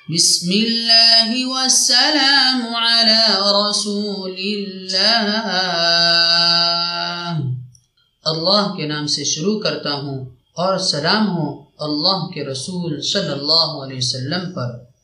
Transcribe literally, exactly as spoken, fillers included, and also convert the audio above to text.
बिस्मिल्लाहि वस्सलामु अला रसूलिल्लाह। अल्लाह के नाम से शुरू करता हूँ और सलाम हो अल्लाह के रसूल सल्लल्लाहु अलैहि वसल्लम पर।